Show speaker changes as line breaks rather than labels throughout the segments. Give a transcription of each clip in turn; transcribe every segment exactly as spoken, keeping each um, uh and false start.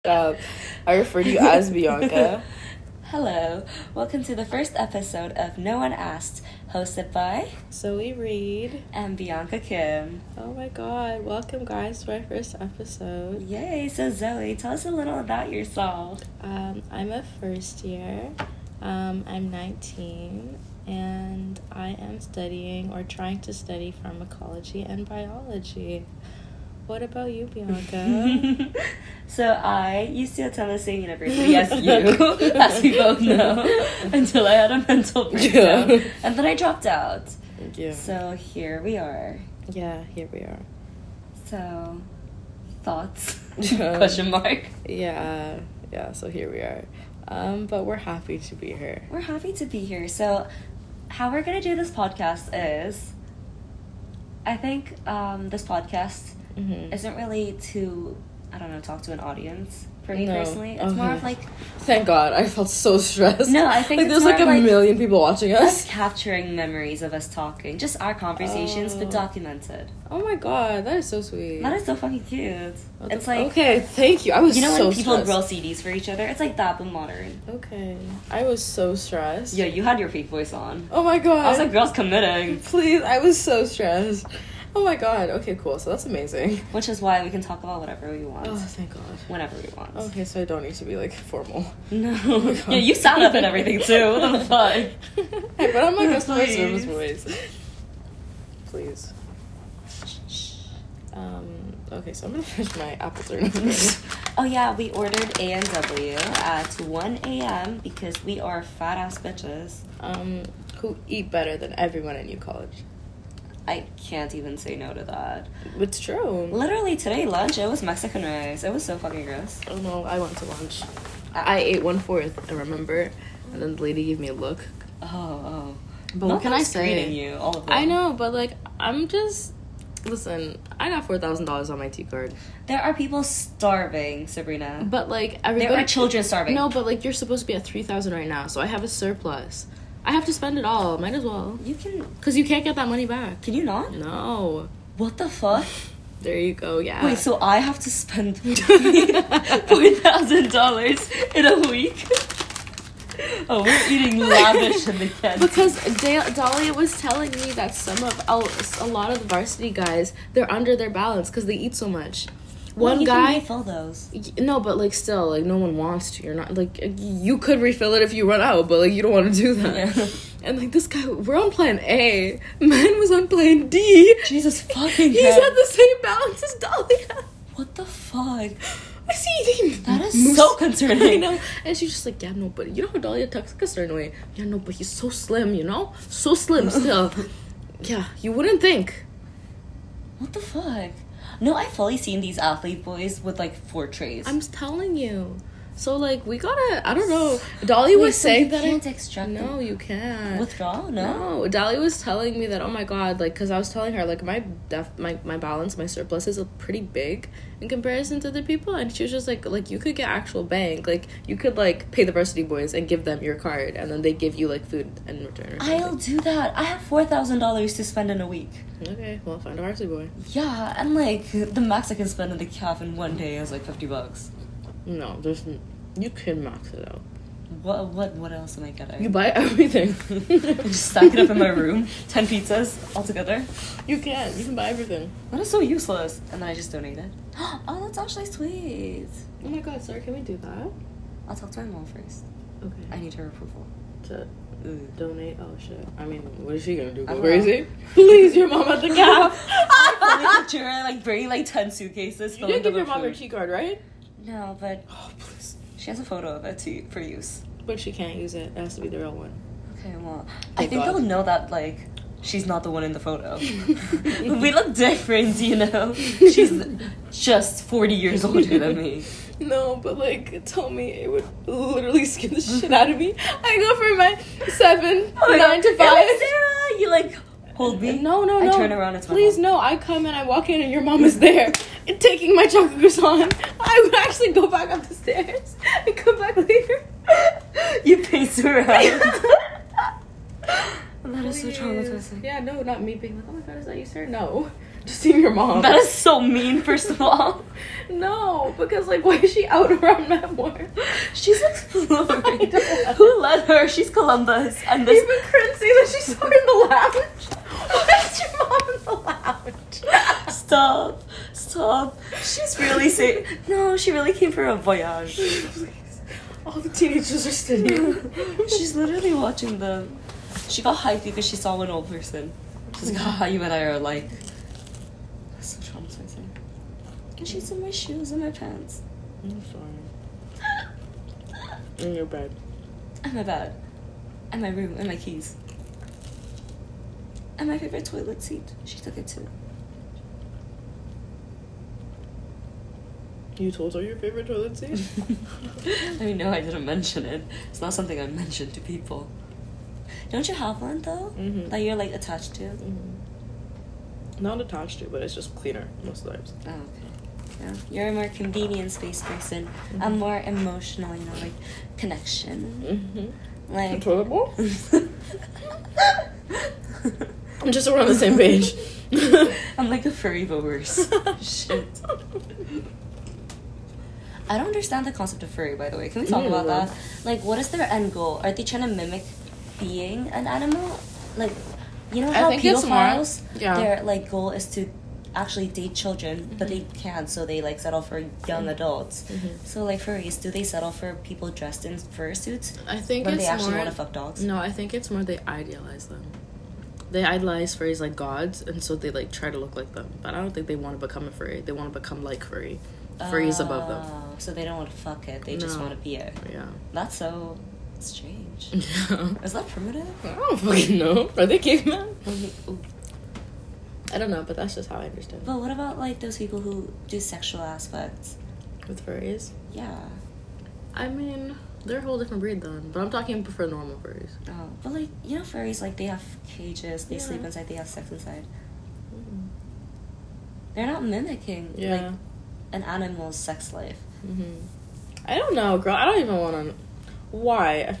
up. I refer to you as Bianca.
Hello, welcome to the first episode of No One Asked, hosted by
Zoe Reed
and Bianca Kim.
Oh my god, welcome guys to our first episode.
Yay, so Zoe, tell us a little about yourself.
Um, I'm a first year. Um, I'm nineteen and I am studying or trying to study pharmacology and biology. What about you, Bianca?
So I used to attend the same university as you, as we both know, until I had a mental breakdown, yeah. And then I dropped out.
Yeah.
So here we are.
Yeah, here we are.
So, thoughts? Question mark.
Yeah, yeah. So here we are. Um, but we're happy to be here.
We're happy to be here. So, how we're gonna do this podcast is, I think um, this podcast. Mm-hmm. Isn't really to, I don't know, talk to an audience for me no. personally. It's okay. More of like...
Thank God. I felt so stressed.
No, I think
like,
it's
there's
more
like a
like
million people watching us.
Us capturing memories of us talking. Just our conversations, oh. but documented.
Oh my God. That is so sweet.
That is so fucking cute.
What
it's
the,
like...
Okay, thank you. I was so stressed.
You know when people grill C Ds for each other? It's like that, but modern.
Okay. I was so stressed.
Yeah, you had your fake voice on.
Oh my God.
I was like, girls committing.
Please. I was so stressed. Oh my God. Okay, cool. So that's amazing.
Which is why we can talk about whatever we want.
Oh, thank God.
Whenever we want.
Okay, so I don't need to be, like, formal.
No. Oh yeah, you sound up and everything, too. What the fuck?
Hey, but I'm like customer service voice. Please. Um, okay, so I'm gonna finish my apple turnover.
Oh yeah, we ordered A and W at one a.m. because we are fat-ass bitches.
Um, who eat better than everyone in U College.
I can't even say no to that.
It's true.
Literally today, lunch, it was Mexican rice. It was so fucking gross.
Oh no, I went to lunch. I, I ate one-fourth, I remember. And then the lady gave me a look.
Oh, oh.
But what can I say?
You, all of them.
I know, but like, I'm just... Listen, I got four thousand dollars on my T-card.
There are people starving, Sabrina.
But like, everybody...
There are children starving.
No, but like, you're supposed to be at three thousand right now, so I have a surplus. I have to spend it all. Might as well.
You can...
Because you can't get that money back.
Can you not?
No.
What the fuck?
There you go, yeah.
Wait, so I have to spend four thousand dollars in a week? Oh, we're eating lavish in the canteen.
Because da- Dahlia was telling me that some of... A lot of the varsity guys, they're under their balance because they eat so much.
Well,
One
you
guy
can refill those.
No, but like still, like no one wants to. You're not like you could refill it if you run out, but like you don't want to do that. Yeah. And like this guy, we're on plan A. Man was on plan D.
Jesus fucking.
He's at the same balance as Dahlia.
What the fuck?
I see.
That is moose. So concerning.
I know. And she's just like, yeah, no, but you know how Dahlia talks like a certain way. Yeah, no, but he's so slim, you know, so slim still. Yeah, you wouldn't think.
What the fuck? No, I've fully seen these athlete boys with, like, four trays.
I'm telling you. So, like, we gotta... I don't know. Dolly Wait, was
so
saying
you
that...
You can't I, extract
No, you can't.
Withdraw? No?
No. Dolly was telling me that, oh, my God, like, because I was telling her, like, my def- my, my balance, my surplus is pretty big in comparison to the people. And she was just like, like, you could get actual bank. Like, you could, like, pay the varsity boys and give them your card. And then they give you, like, food in return or something.
I'll do that. I have four thousand dollars to spend in a week.
Okay, well, find a varsity boy.
Yeah, and, like, the max I can spend in the calf in one day is, like, fifty bucks.
No, there's... You can max it out.
What what what else am I getting?
You buy everything.
Just stack it up in my room. Ten pizzas all together.
You can. You can buy everything.
That is so useless. And then I just donate it. Oh, that's actually sweet.
Oh my God, sorry, can we do that?
I'll talk to my mom first. Okay. I need her approval.
To mm, donate? Oh shit. I mean, what is she gonna do? Go crazy? Please, your mom at the calf.
I fully picture her like bringing like ten suitcases.
You didn't give your mom your key card, right?
No, but
oh please.
She has a photo of it to, for use.
But she can't use it. It has to be the real one.
Okay, well, Thank I think God. They'll know that, like, she's not the one in the photo. We look different, you know? She's just forty years older than me.
No, but, like, tell me, it would literally scare the shit out of me. I go for my seven, oh, nine to five.
Sarah, you, like... Hold me.
No, no, no.
I turn around. It's
Please, no. I come and I walk in and your mom is there, taking my chocolate croissant. I would actually go back up the stairs and come back later.
You pace around. That is so traumatizing.
Yeah, no, not me being like, oh my God, is that you, sir? No. Just seeing your mom.
That is so mean, first of all.
No, because like, why is she out around Memoir?
She's exploring. Who let her? She's Columbus. And this.
Even Corinne saying that she saw her in the lounge. Why is your mom in the lounge?
Stop. Stop. She's really saying. No, she really came for a voyage.
All the teenagers are studying.
She's literally watching the. She got hyped because she saw an old person. She's like, haha, you and I are alike. That's so traumatizing. And she's in my shoes and my pants.
I'm sorry. In your bed.
And my bed. And my room. And my keys. And my favorite toilet seat. She took it too.
You told her your favorite toilet seat?
I mean, no, I didn't mention it. It's not something I mentioned to people. Don't you have one, though?
Mm-hmm.
That you're, like, attached to?
Mm-hmm. Not attached to, but it's just cleaner most of the times.
Oh, okay. Yeah. You're a more convenience-based person.
Mm-hmm.
I'm more emotional, you know, like, connection.
Mm-hmm.
Like...
Toilet bowl? Just so we're on the same page.
I'm like a furry, but worse. Shit. I don't understand the concept of furry, by the way. Can we talk
Mm,
about
well.
that? Like, what is their end goal? Are they trying to mimic being an animal? Like, you know how
I think it's more-
pedophiles,
yeah.
their, like, goal is to actually date children, mm-hmm. but they can't, so they, like, settle for young adults.
Mm-hmm.
So, like, furries, do they settle for people dressed in fursuits?
I think
when
it's
they actually
more,
want to fuck dogs?
No, I think it's more they idealize them. They idolize furries like gods, and so they, like, try to look like them. But I don't think they want to become a furry. They want to become like furry. Furry's
uh,
above them.
So they don't want to fuck it, they just
No.
want to be it.
Yeah.
That's so strange.
Yeah.
Is that primitive?
I don't fucking know. Are they cavemen?
Ooh.
I don't know, but that's just how I understand.
But what about, like, those people who do sexual aspects?
With furries?
Yeah.
I mean, they're a whole different breed then. But I'm talking for normal furries.
Oh, but, like, you know, furries, like, they have cages, they
Yeah.
sleep inside, they have sex inside.
Mm-hmm.
They're not mimicking,
Yeah.
like, an animal's sex life.
Mm-hmm. I don't know, girl. I don't even want to... Why?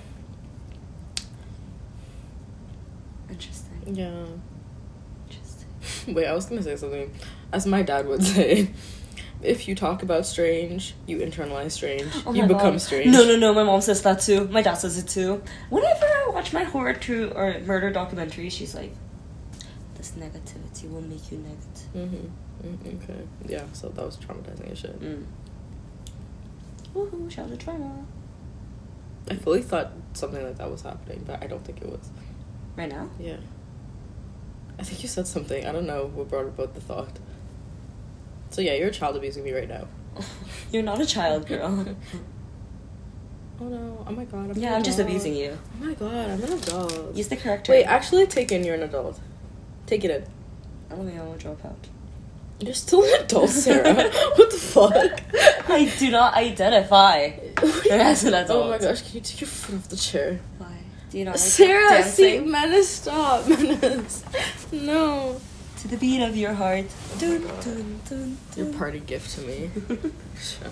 Interesting.
Yeah.
Interesting.
Wait, I was gonna say something. As my dad would say, if you talk about strange, you internalize strange.
Oh
you
my
become
God.
strange.
No, no, no. My mom says that too. My dad says it too. Whenever I watch my horror true or murder documentary, she's like, "This negativity will make you negative."
Mm-hmm. Mm, okay. Yeah. So that was traumatizing as shit.
Mm. Woohoo! Shout out trauma.
I fully thought something like that was happening, but I don't think it was.
Right now?
Yeah. I think you said something. I don't know what brought about the thought. So yeah, you're a child abusing me right now.
You're not a child, girl.
Oh no! Oh my god! I'm
Yeah,
an
I'm just
adult.
abusing you.
Oh my god! I'm an adult.
Use the correct
Wait,
term.
actually, take in. You're an adult. Take it in.
Oh my god, I'll drop out.
You're still an adult, Sarah. What the fuck?
I do not identify as an adult.
Oh my gosh! Can you take your foot off the chair?
Why? Do you not like
Sarah, see,
dancing?
Menace, stop, Menace. No.
To the beat of your heart. Dun,
God.
dun, dun,
Your
dun.
party gift to me. Sure.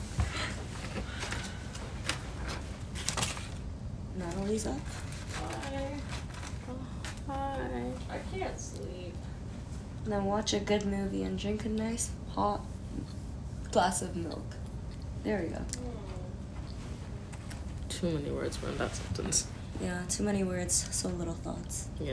Natalie's up.
Hi. Oh, hi. I can't sleep.
And then watch a good movie and drink a nice hot glass of milk. There we go.
Too many words were in that sentence.
Yeah, too many words, so little thoughts.
Yeah.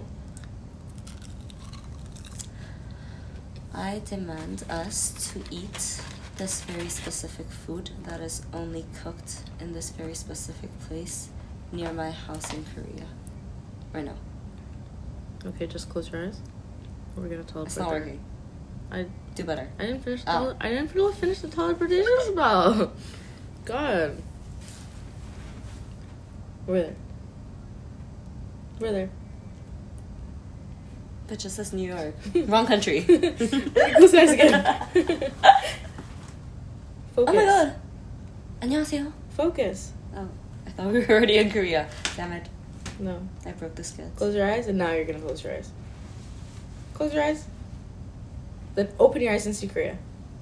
I demand us to eat this very specific food that is only cooked in this very specific place near my house in Korea. Or no,
Okay, just close your eyes. We're gonna teleport.
it's not
there.
working.
I
Do better.
I didn't finish. The
Oh.
tele- I didn't finish finish the teleportation spell. God. We're there. We're there.
But just says New York. Wrong country.
Close your eyes again. Focus.
Oh my god. 안녕하세요.
Focus.
Oh, I thought we were already in Korea. Damn it.
No.
I broke the skills.
Close your eyes, and now you're gonna close your eyes. Close your eyes. Then open your eyes and see Korea.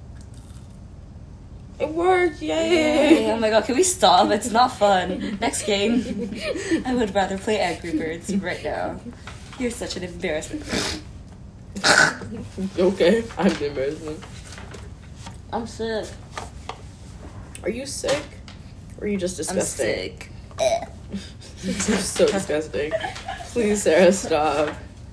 It worked! Yay!
Yay. Oh my god, can we stop? It's not fun. Next game. I would rather play Angry Birds right now. You're such an embarrassment.
Okay, I'm the embarrassment. I'm sick. Are you sick? Or are you just disgusting?
I'm sick.
You're so disgusting. Please, Sarah, stop.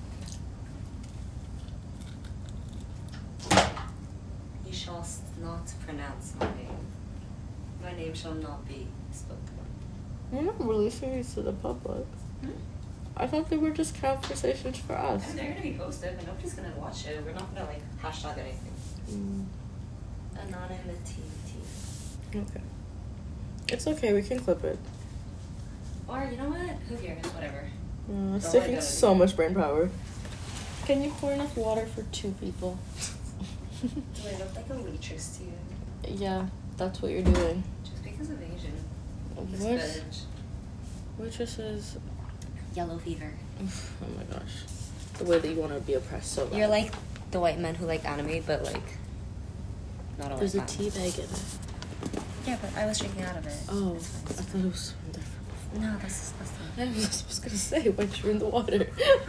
You shall not pronounce my name. My name shall not be spoken.
We're not releasing these to the public.
Hmm?
I thought they were just conversations for us.
And they're gonna be posted, but nobody's gonna watch it. We're not gonna like hashtag anything.
Mm.
Anonymity.
Okay. It's okay, we can clip it.
Or you know what? Who cares? Whatever.
Uh, it's
Don't
taking
let go.
so much brain power. Can you pour enough water for two people?
Do I look like a waitress to you?
Yeah, that's what you're doing.
Just because of Asian. This
What?
bitch.
Waitresses.
Yellow fever.
Oh my gosh. The way that you want to be oppressed so bad.
You're like the white men who like anime, but like not a
There's a
white
tea bag in it.
Yeah, but I was drinking out of it.
Oh,
It's
I
fine.
thought it was from there.
No, that's disgusting.
I was just gonna say, once you're in the water.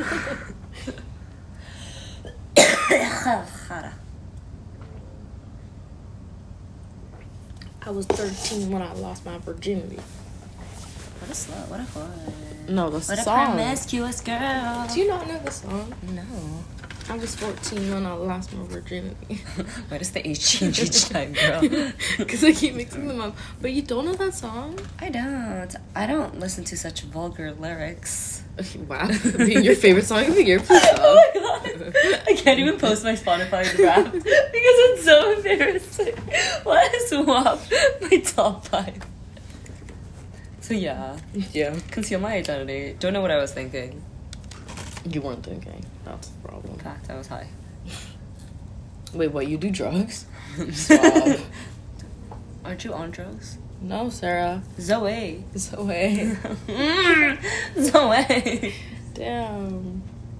I was thirteen when I lost my virginity.
What a slut. What a whore.
No, that's
What
the
a
song.
promiscuous girl.
Do you not know the song?
No.
I was fourteen when I lost my virginity.
Why does the age change each time, girl?
Because I keep mixing them up. But you don't know that song?
I don't. I don't listen to such vulgar lyrics.
Wow. Being your favorite song of the year, please stop.
Oh my god. I can't even post my Spotify Wrapped because it's so embarrassing. Why is W A P my top five? So yeah.
Yeah.
Conceal my identity. Don't know what I was thinking.
You weren't thinking. That's the problem.
In fact, I was high.
Wait, what? You do drugs? Stop.
Aren't you on drugs?
No, Sarah.
Zoe.
Zoe.
Mm, Zoe.
Damn.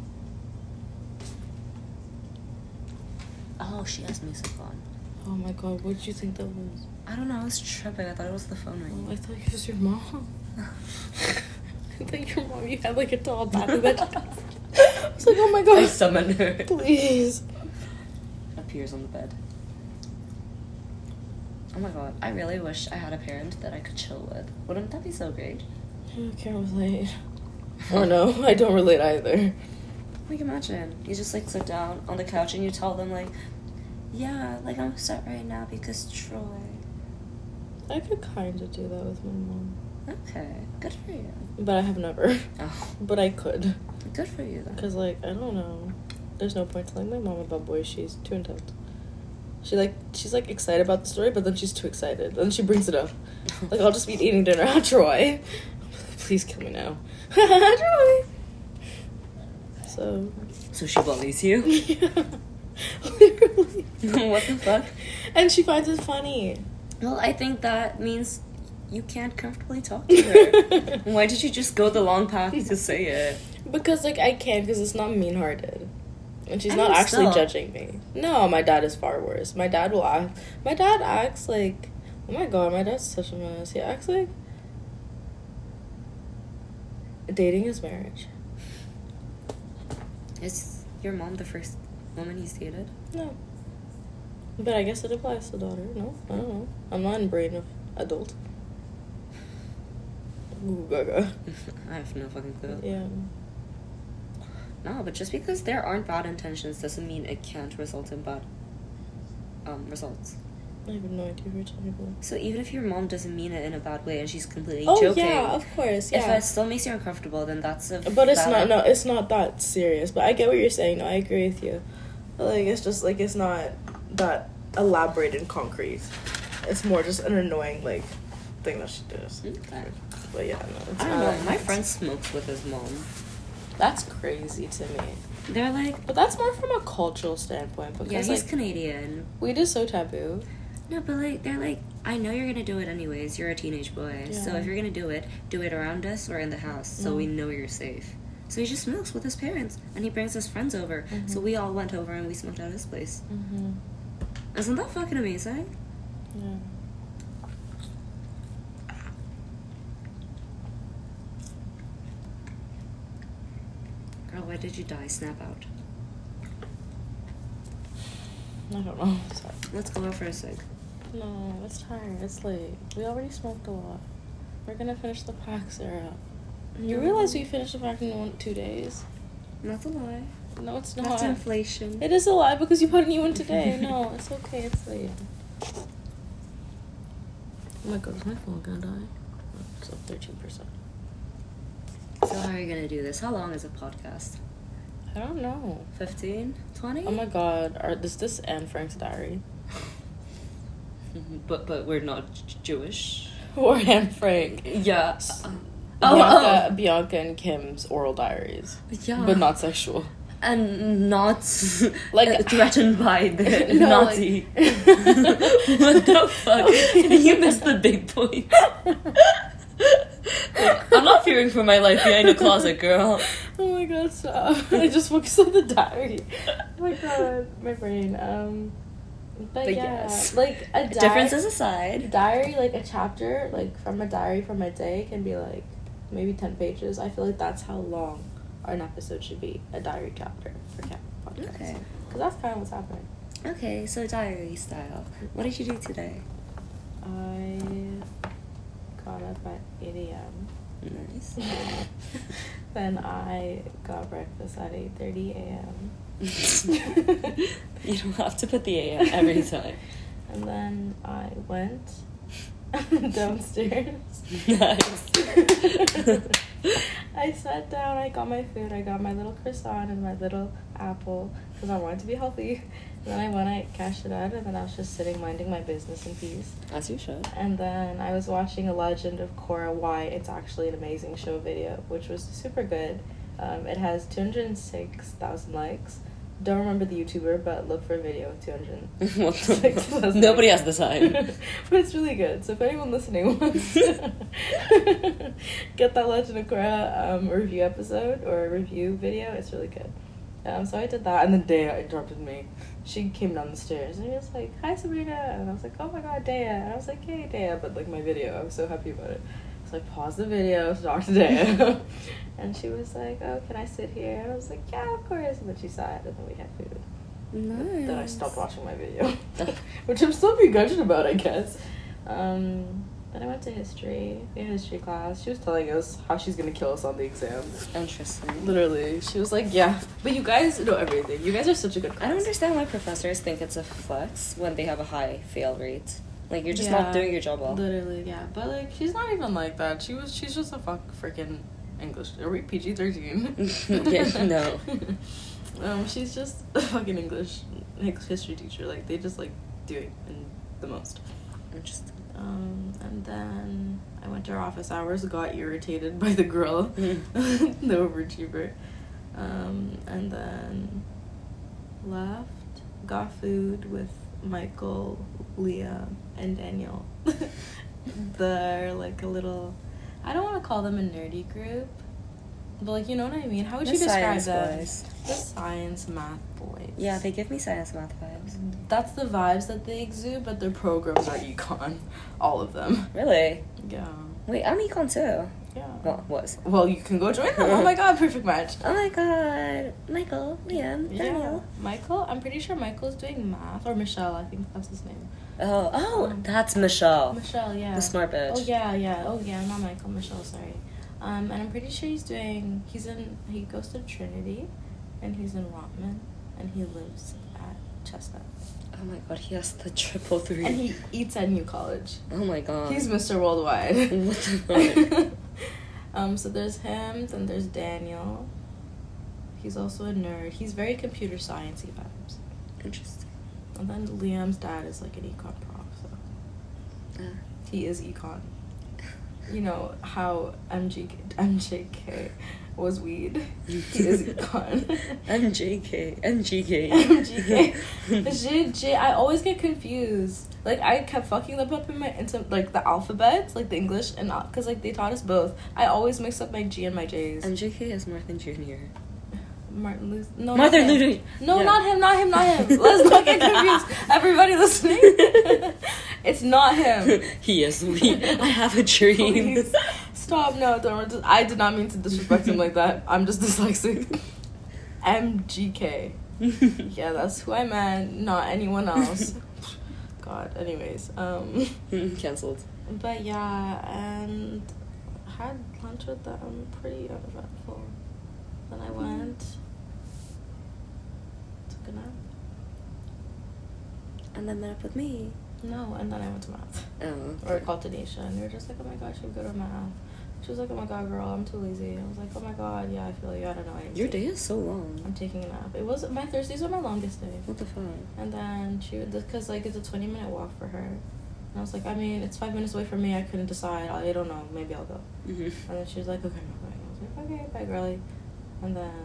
Oh, she has music on.
Oh my god, what did you think that was?
I don't know. I was tripping. I thought it was the phone
Oh,
ringing.
I thought it was your mom. I thought your mom, you had like a tall back of it. I was like, oh my
I
god.
summoned her.
Please.
Appears on the bed. Oh my god. I really wish I had a parent that I could chill with. Wouldn't that be so great?
I can't relate. Or no, I don't relate either.
Like, imagine. You just, like, sit down on the couch and you tell them, like, yeah, like, I'm upset right now because Troy.
I could kind of do that with my mom.
Okay. Good for you.
But I have never.
Oh.
But I could.
Good for you, then.
Because, like, I don't know. There's no point telling my mom about boys. She's too intense. She, like, she's, like, excited about the story, but then she's too excited. Then she brings it up. Like, I'll just be eating dinner. Ah, Troy. Please kill me now. Troy. So.
So she bullies you?
Yeah. Literally.
What the fuck?
And she finds it funny.
Well, I think that means you can't comfortably talk to her. Why did you just go the long path to say it?
Because, like, I can't, because it's not mean-hearted. And she's
I
not
mean,
actually
still.
judging me. No, my dad is far worse. My dad will act... My dad acts like... Oh my god, my dad's such a mess. He acts like... Dating is marriage.
Is your mom the first woman he's dated?
No. But I guess it applies to daughter. No, I don't know. I'm not in brain of adult. Ooh, gaga.
I have no fucking clue.
Yeah.
No, but just because there aren't bad intentions doesn't mean it can't result in bad um, results.
I have no idea what you're talking about.
So even if your mom doesn't mean it in a bad way and she's completely
Oh,
joking,
yeah, of course,
if
yeah.
it still makes you uncomfortable, then that's a
But it's
valid-
not, no, it's not that serious. But I get what you're saying. No, I agree with you. But, like, it's just, like, it's not that elaborate and concrete. It's more just an annoying, like, thing that she does.
Okay.
But, yeah, no. It's
I don't
not-
know. My friend smokes with his mom.
That's crazy to me.
They're like,
But that's more from a cultural standpoint. Because,
yeah, he's
like,
Canadian.
weed is so taboo.
No, but like they're like, I know you're gonna do it anyways. You're a teenage boy, so
Yeah.
if you're gonna do it, do it around us or in the house, so
Mm.
we know you're safe. So he just smokes with his parents, and he brings his friends over.
Mhm.
So we all went over and we smoked at his place.
Mm-hmm.
Isn't that fucking amazing?
Yeah.
Girl, why did you die? Snap out.
I don't know. Sorry.
Let's go out for a cig.
No, it's tired. It's late. We already smoked a lot. We're gonna finish the pack, Sarah. You realize we finished the pack in one, two days?
That's a lie.
No, it's not.
That's inflation.
It is a lie because you put a new one today. No, it's okay. It's late. Oh my god, is my phone gonna die? It's up thirteen percent.
So how are you gonna do this? How long is a podcast?
I don't know.
fifteen? twenty?
Oh my god, are, is this Anne Frank's diary?
but but we're not j- Jewish.
Or Anne Frank.
Yeah.
Uh,
oh,
Bianca,
oh.
Bianca and Kim's oral diaries.
Yeah.
But not sexual.
And not
like
uh, threatened by the
no,
Nazi.
Like...
What the fuck? You missed the big point. Like, I'm not fearing for my life behind a closet, girl.
Oh my god, stop. I just focused on the diary. Oh my god, my brain. Um, but,
but
yeah,
yes.
like a di-
differences aside,
diary, like a chapter, like from a diary from a day can be like maybe ten pages. I feel like that's how long an episode should be, a diary chapter for Cat Podcast.
Okay.
Because that's kind of what's happening.
Okay, so diary style. What did you do today?
I got up at eight a.m.
Nice.
Then I got breakfast at eight thirty a.m.
You don't have to put the A M every time.
And then I went downstairs.
Nice.
I sat down, I got my food, I got my little croissant and my little apple because I wanted to be healthy. And then I went, I cashed it out, and then I was just sitting minding my business in peace.
As you should. And
then I was watching A Legend of Korra, Why It's Actually an Amazing Show video, which was super good. Um, it has two hundred six thousand likes. Don't remember the YouTuber, but look for a video with two hundred six thousand
Nobody has the time.
But it's really good. So if anyone listening wants to get that Legend of Korra um, review episode or review video, it's really good. Um, so I did that, and then Dea interrupted me. She came down the stairs, and she was like, "Hi, Sabrina," and I was like, "Oh my god, Dea," and I was like, "Hey, Dea," but like my video, I was so happy about it. So I paused the video to talk to Dea, and she was like, "Oh, can I sit here?" And I was like, "Yeah, of course." And then she sat, and then we had food.
Nice.
Then I stopped watching my video, which I'm still begrudging about, I guess. Um, then I went to history. We had history class. She was telling us how she's gonna kill us on the exam.
Interesting.
Literally, she was like, "Yeah, but you guys know everything. You guys are such a good class."
I don't understand why professors think it's a flex when they have a high fail rate. Like, you're just
Yeah,
not doing your job well.
Literally, yeah. But like, she's not even like that. She was. She's just a fuck freaking English. Are we P G thirteen?
Yeah, no.
Um, she's just a fucking English history teacher. Like, they just like do it in the most.
Interesting.
Um, and then I went to her office hours, got irritated by the girl, the overachiever, um, and then left, got food with Michael, Leah, and Daniel. They're like a little, I don't want to call them a nerdy group, but like, you know what I mean? How would
The
you describe
science
them?
boys.
The science math boys.
Yeah, they give me science math vibes.
That's the vibes that they exude, but their programs are econ. All of them.
Really?
Yeah.
Wait, I'm econ too.
Yeah.
Well, was.
Well, you can go join them. Oh my god, perfect match.
Oh my god. Michael, Liam,
Yeah.
Daniel.
Michael, I'm pretty sure Michael's doing math. Or Michelle, I think that's his name.
Oh, oh,
Um,
that's Michelle.
Michelle, yeah.
The smart bitch.
Oh, yeah, yeah. Oh, yeah, not Michael. Michelle, sorry. Um, and I'm pretty sure he's doing, he's in, he goes to Trinity, and he's in Rotman, and he lives at Chestnut.
Oh my god, he has the triple three.
And he eats at New College.
Oh my god.
He's Mister Worldwide.
What the fuck?
um, so there's him, then there's Daniel. He's also a nerd. He's very computer sciencey vibes.
Interesting.
And then Liam's dad is like an econ prof, so
Uh,
he is econ. You know how M G K, M J K was weed. He is econ.
M J K. M G K.
M G K. J, J, I always get confused. Like, I kept fucking them up in my, into, like, the alphabets, like, the English, and, because, like, they taught us both. I always mix up my G and my J's.
M J K is Martin Junior
Martin Luther. No,
Martin
not him.
Luther.
No,
Yeah.
not him, not him, not him. Let's not get confused. Everybody listening. It's not him.
He is weed. I have a dream.
Please. Stop, no, don't. I did not mean to disrespect him like that. I'm just dyslexic. M G K. Yeah, that's who I meant, not anyone else. God, anyways. Um,
Cancelled.
But yeah, and had lunch with them, pretty uneventful. Then I went, took a nap.
And then met up with me.
No, and then I went to math.
Oh. Okay.
Or I called Tanisha, and they were just like, oh my gosh, you're good at math. She was like, oh my god, girl, I'm too lazy. I was like, oh my god, yeah, I feel you, I don't know. I
Your day is so long.
I'm taking a nap. It was, my Thursdays are my longest day.
What the fuck?
And then she would, because like, it's a twenty minute walk for her. And I was like, I mean, it's five minutes away from me, I couldn't decide. I don't know, maybe I'll go.
Mm-hmm.
And then she was like, okay, I'm not going. I was like, okay, bye, girlie. And then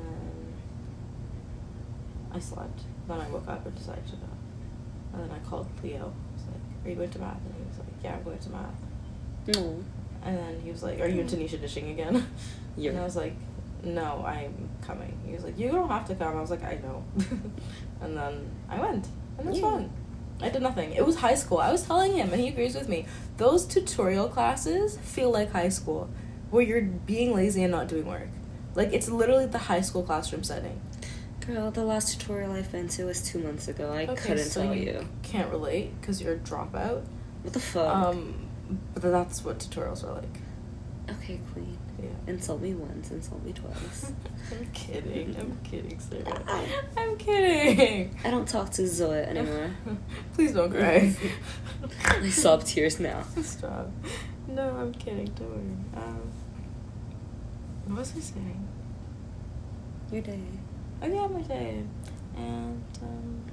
I slept. Then I woke up and decided to go. And then I called Leo. I was like, are you going to math? And he was like, yeah, I'm going to math.
No.
And then he was like, are you and Tanisha dishing again?
Yeah.
And I was like, no, I'm coming. He was like, you don't have to come. I was like, I know. And then I went. And it was
Yeah.
fun. I did nothing. It was high school. I was telling him, and he agrees with me. Those tutorial classes feel like high school, where you're being lazy and not doing work. Like, it's literally the high school classroom setting.
Girl, the last tutorial I've been to was two months ago. I okay, couldn't so tell you.
you. Can't relate because you're a dropout.
What the fuck?
Um, but that's what tutorials are like.
Okay, queen.
Yeah.
Insult me once, insult me twice.
I'm kidding. I'm kidding, Sarah. I'm kidding.
I don't talk to Zoe anymore.
Please don't cry.
I sob tears now.
Stop. No, I'm kidding. Don't worry. Um, what was I saying?
Your day.
Oh yeah, my day. And um,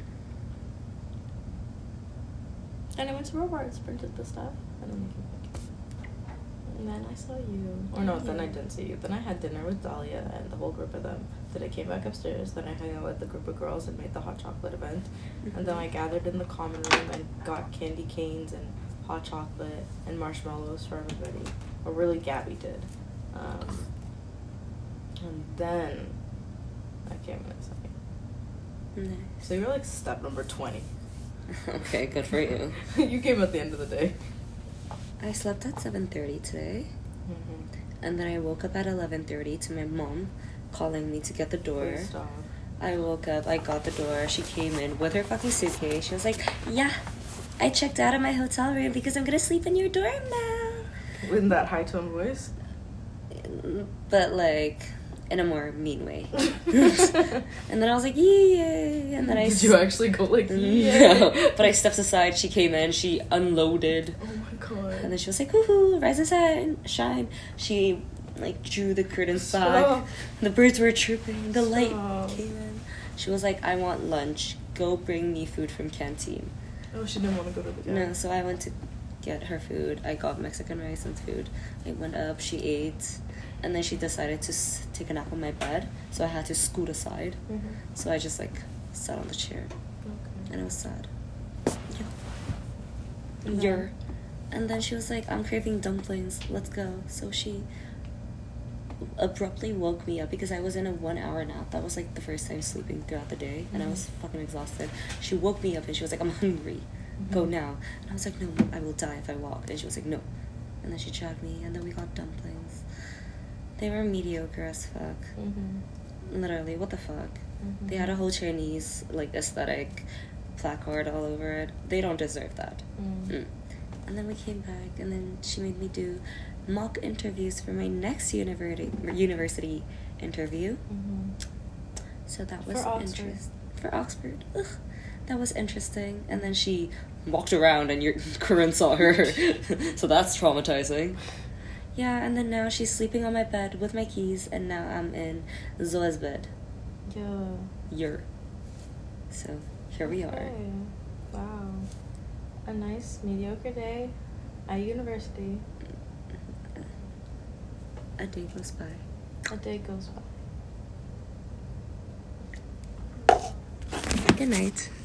and I went to Robarts, printed the stuff, and then I came back. And then I saw you. Or no, yeah. Then I didn't see you. Then I had dinner with Dahlia and the whole group of them. Then I came back upstairs. Then I hung out with the group of girls and made the hot chocolate event. Mm-hmm. And then I gathered in the common room and got candy canes and hot chocolate and marshmallows for everybody. Or really, Gabby did. Um, and then I came in a second.
Nice.
So you were like step number twenty.
Okay, good for you.
You came at the end of the day.
I slept at seven thirty today.
Mm-hmm.
And then I woke up at eleven thirty to my mom calling me to get the door.
Please stop.
I woke up, I got the door. She came in with her fucking suitcase. She was like, yeah, I checked out of my hotel room because I'm going to sleep in your dorm now.
In that high-tone voice?
But, like, in a more mean way. And then I was like, yay! And then I...
Did you actually go like, yay?
No, but I stepped aside. She came in. She unloaded.
Oh, my God.
And then she was like, woohoo, rise and shine. shine. She... like drew the curtains
Stop.
back. The birds were chirping. The
Stop.
light came in. She was like, I want lunch. Go bring me food from canteen.
Oh, she didn't want to go to the canteen.
No, so I went to get her food. I got Mexican rice and food. I went up. She ate. And then she decided to s- take a nap on my bed. So I had to scoot aside.
Mm-hmm.
So I just like sat on the chair.
Okay.
And it was sad.
And then?
You're. And then she was like, I'm craving dumplings. Let's go. So she abruptly woke me up because I was in a one hour nap. That was like the first time sleeping throughout the day, and mm-hmm. I was fucking exhausted. She woke me up and she was like, I'm hungry, mm-hmm. go now. And I was like, no, I will die if I walk. And she was like, no. And then she dragged me, and then we got dumplings. They were mediocre as fuck. Mm-hmm. Literally, what the fuck? Mm-hmm. They had a whole Chinese like aesthetic placard all over it. They don't deserve that. Mm. Mm. And then we came back, and then she made me do mock interviews for my next university university interview. Mm-hmm. So that was interesting. For Oxford. Ugh. That was interesting. And then she walked around and your Corinne saw her. So that's traumatizing. Yeah, and then now she's sleeping on my bed with my keys, and now I'm in Zoe's bed.
Yeah.
You're. So here we are.
Okay. Wow. A nice mediocre day at university.
A day goes by.
A day goes by.
Good night.